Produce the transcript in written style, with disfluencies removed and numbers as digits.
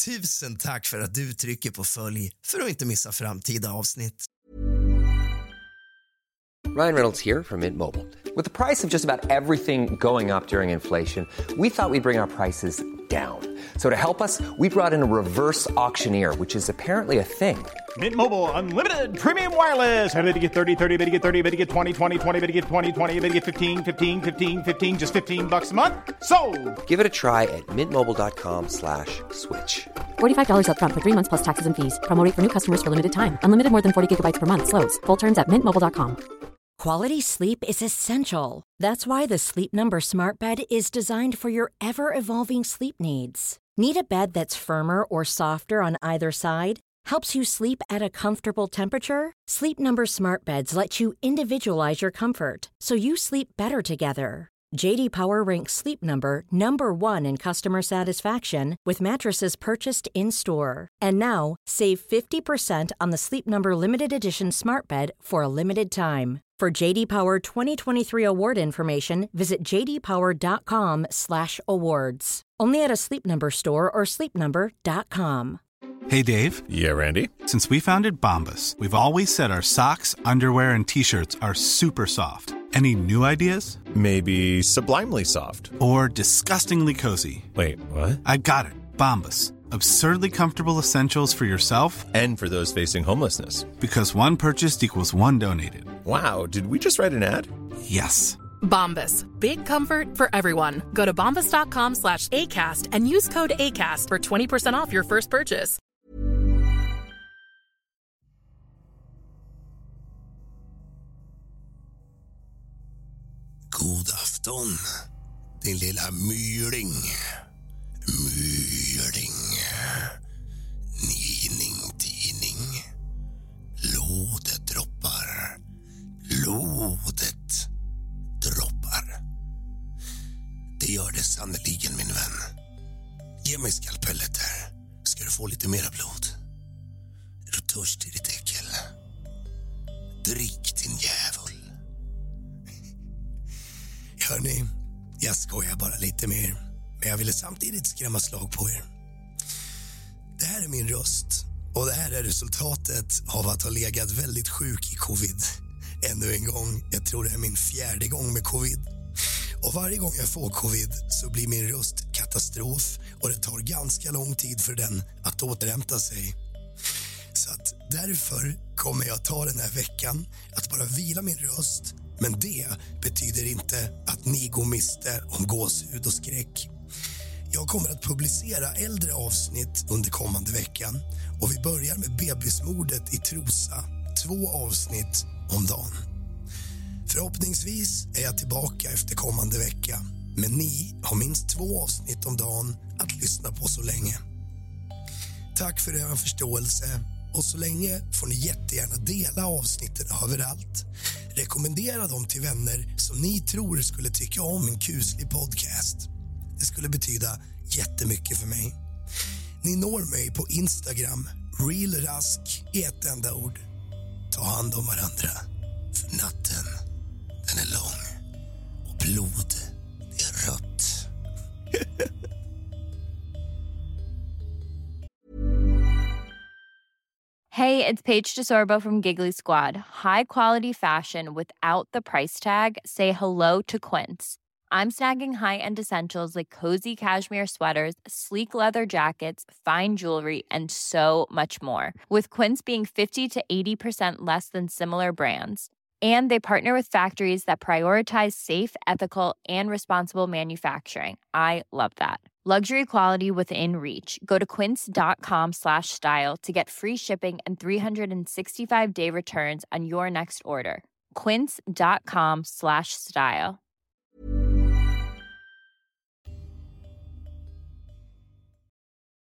Tusen tack för att du trycker på följ för att inte missa framtida avsnitt. Ryan Reynolds here from Mint Mobile. With the price of just about everything going up during inflation, we thought we'd bring our prices down. So to help us, we brought in a reverse auctioneer, which is apparently a thing. Mint Mobile Unlimited Premium Wireless. How to get 30, 30, bit to get 30, bit to get 20, 20, 20, bit to get 20, 20, bit to get 15, 15, 15, 15, just $15 a month? Sold! Give it a try at mintmobile.com/switch. $45 up front for 3 months plus taxes and fees. Promo rate for new customers for limited time. Unlimited more than 40 gigabytes per month. Slows full terms at mintmobile.com. Quality sleep is essential. That's why the Sleep Number Smart Bed is designed for your ever-evolving sleep needs. Need a bed that's firmer or softer on either side? Helps you sleep at a comfortable temperature? Sleep Number Smart Beds let you individualize your comfort so you sleep better together. JD Power ranks Sleep Number #1 in customer satisfaction with mattresses purchased in-store. And now, save 50% on the Sleep Number Limited Edition Smart Bed for a limited time. For JD Power 2023 award information, visit jdpower.com/awards. Only at a Sleep Number store or sleepnumber.com. Hey, Dave. Yeah, Randy. Since we founded Bombas, we've always said our socks, underwear, and T-shirts are super soft. Any new ideas? Maybe sublimely soft. Or disgustingly cozy. Wait, what? I got it. Bombas. Absurdly comfortable essentials for yourself and for those facing homelessness. Because one purchased equals one donated. Wow, did we just write an ad? Yes. Bombas. Big comfort for everyone. Go to bombas.com/ACAST and use code ACAST for 20% off your first purchase. God afton, din lilla myling. Myling. Tidning. Blodet droppar. Blodet droppar. Det gör det sannoliken, min vän. Ge mig skalpellet där. Ska du få lite mera blod? Är du törstig, ditt äckel? Drick, din jävel. Hörni, jag skojar bara lite mer. Men jag ville samtidigt skrämma slag på er. Det här är min röst. Och det här är resultatet av att ha legat väldigt sjuk i covid. Ännu en gång, jag tror det är min 4:e gång med covid. Och varje gång jag får covid så blir min röst katastrof. Och det tar ganska lång tid för den att återhämta sig. Så att därför kommer jag ta den här veckan att bara vila min röst. Men det betyder inte att ni går miste om gåshud och skräck. Jag kommer att publicera äldre avsnitt under kommande veckan. Och vi börjar med bebismordet i Trosa. 2 avsnitt om dagen. Förhoppningsvis är jag tillbaka efter kommande vecka. Men ni har minst 2 avsnitt om dagen att lyssna på så länge. Tack för er förståelse. Och så länge får ni jättegärna dela avsnitten överallt. Rekommendera dem till vänner som ni tror skulle tycka om en kuslig podcast. Det skulle betyda jättemycket för mig. Ni når mig på Instagram, realrask i ett enda ord. Ta hand om varandra, för natten, den är lång och blod, det är rött. Hey, it's Paige DeSorbo from Giggly Squad. High quality fashion without the price tag. Say hello to Quince. I'm snagging high-end essentials like cozy cashmere sweaters, sleek leather jackets, fine jewelry, and so much more. With Quince being 50 to 80% less than similar brands. And they partner with factories that prioritize safe, ethical, and responsible manufacturing. I love that. Luxury quality within reach. Go to quince.com/style to get free shipping and 365-day returns on your next order. Quince.com/style.